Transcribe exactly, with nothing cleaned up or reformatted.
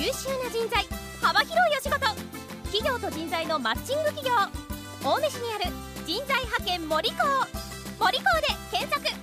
秀な人材、幅広いお仕事、企業と人材のマッチング企業、青梅市にある人材派遣森高、森高で検索。